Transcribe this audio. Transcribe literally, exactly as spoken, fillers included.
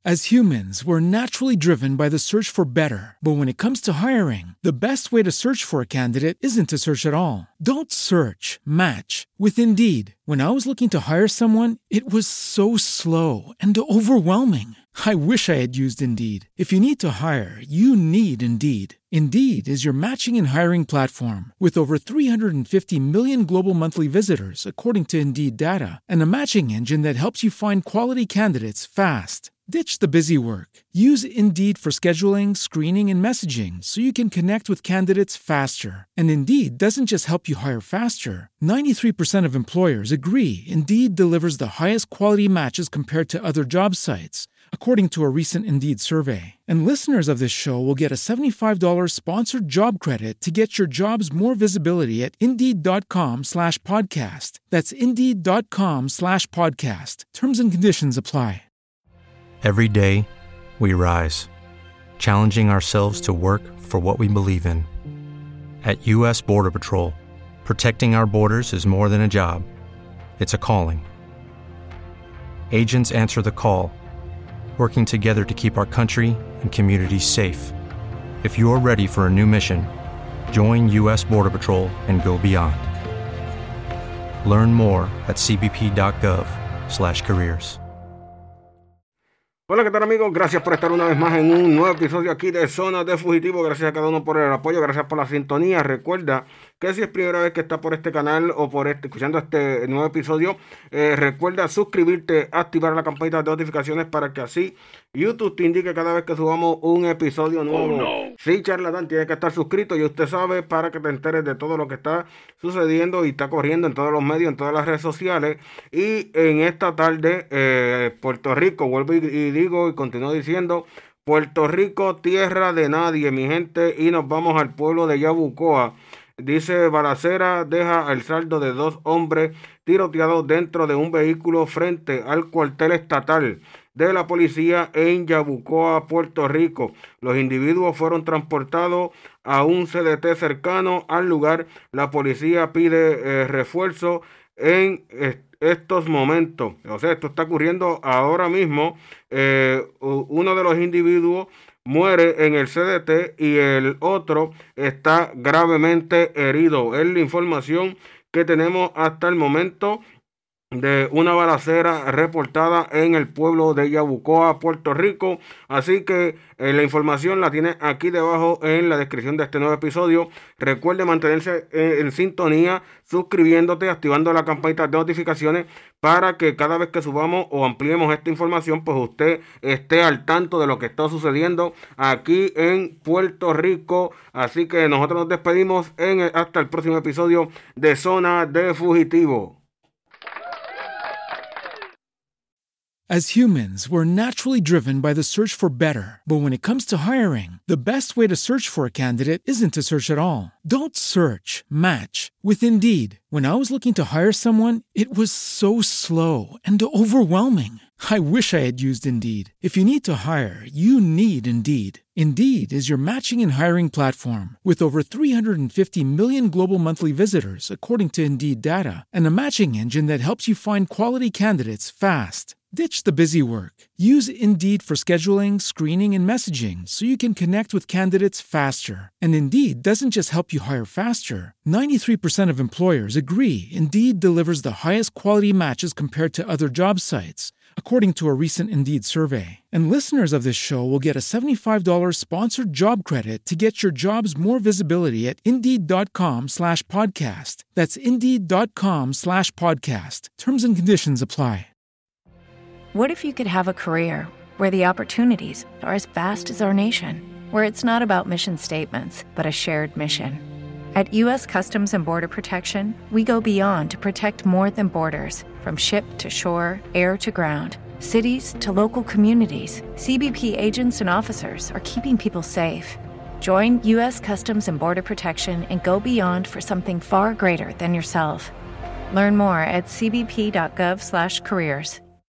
As humans, we're naturally driven by the search for better. But when it comes to hiring, the best way to search for a candidate isn't to search at all. Don't search, match with Indeed. When I was looking to hire someone, it was so slow and overwhelming. I wish I had used Indeed. If you need to hire, you need Indeed. Indeed is your matching and hiring platform with over three hundred fifty million global monthly visitors, according to Indeed data, and a matching engine that helps you find quality candidates fast. Ditch the busy work. Use Indeed for scheduling, screening, and messaging so you can connect with candidates faster. And Indeed doesn't just help you hire faster. ninety-three percent of employers agree Indeed delivers the highest quality matches compared to other job sites, according to a recent Indeed survey. And listeners of this show will get a seventy-five dollars sponsored job credit to get your jobs more visibility at Indeed.com slash podcast. That's Indeed.com slash podcast. Terms and conditions apply. Every day, we rise, challenging ourselves to work for what we believe in. At U S Border Patrol, protecting our borders is more than a job. It's a calling. Agents answer the call, working together to keep our country and communities safe. If you're ready for a new mission, join U S Border Patrol and go beyond. Learn more at cbp.gov slash careers. Hola, ¿qué tal, amigos? Gracias por estar una vez más en un nuevo episodio aquí de Zona de Fugitivo. Gracias a cada uno por el apoyo, gracias por la sintonía. Recuerda que si es primera vez que está por este canal o por este escuchando este nuevo episodio, eh, recuerda suscribirte, activar la campanita de notificaciones para que así YouTube te indique cada vez que subamos un episodio nuevo. Oh, no. Sí, charlatán, tiene que estar suscrito, y usted sabe, para que te enteres de todo lo que está sucediendo y está corriendo en todos los medios, en todas las redes sociales. Y en esta tarde, eh, Puerto Rico, vuelvo y, y digo y continúo diciendo, Puerto Rico, tierra de nadie, mi gente, y nos vamos al pueblo de Yabucoa. Dice: balacera deja el saldo de dos hombres tiroteados dentro de un vehículo frente al cuartel estatal de la policía en Yabucoa, Puerto Rico. Los individuos fueron transportados a un C D T cercano al lugar. La policía pide eh, refuerzo en eh, estos momentos. O sea, esto está ocurriendo ahora mismo. Eh, uno de los individuos muere en el C D T y el otro está gravemente herido. Es la información que tenemos hasta el momento de una balacera reportada en el pueblo de Yabucoa, Puerto Rico. Así que eh, la información la tiene aquí debajo en la descripción de este nuevo episodio. Recuerde mantenerse eh, en sintonía, suscribiéndote, activando la campanita de notificaciones para que cada vez que subamos o ampliemos esta información, pues usted esté al tanto de lo que está sucediendo aquí en Puerto Rico. Así que nosotros nos despedimos en el, hasta el próximo episodio de Zona de Fugitivo. As humans, we're naturally driven by the search for better. But when it comes to hiring, the best way to search for a candidate isn't to search at all. Don't search, match with Indeed. When I was looking to hire someone, it was so slow and overwhelming. I wish I had used Indeed. If you need to hire, you need Indeed. Indeed is your matching and hiring platform with over three hundred fifty million global monthly visitors, according to Indeed data, and a matching engine that helps you find quality candidates fast. Ditch the busy work. Use Indeed for scheduling, screening, and messaging so you can connect with candidates faster. And Indeed doesn't just help you hire faster. ninety-three percent of employers agree Indeed delivers the highest quality matches compared to other job sites, according to a recent Indeed survey. And listeners of this show will get a seventy-five dollars sponsored job credit to get your jobs more visibility at Indeed.com slash podcast. That's Indeed.com slash podcast. Terms and conditions apply. What if you could have a career where the opportunities are as vast as our nation, where it's not about mission statements, but a shared mission? At U S Customs and Border Protection, we go beyond to protect more than borders. From ship to shore, air to ground, cities to local communities, C B P agents and officers are keeping people safe. Join U S Customs and Border Protection and go beyond for something far greater than yourself. Learn more at cbp.gov slash careers.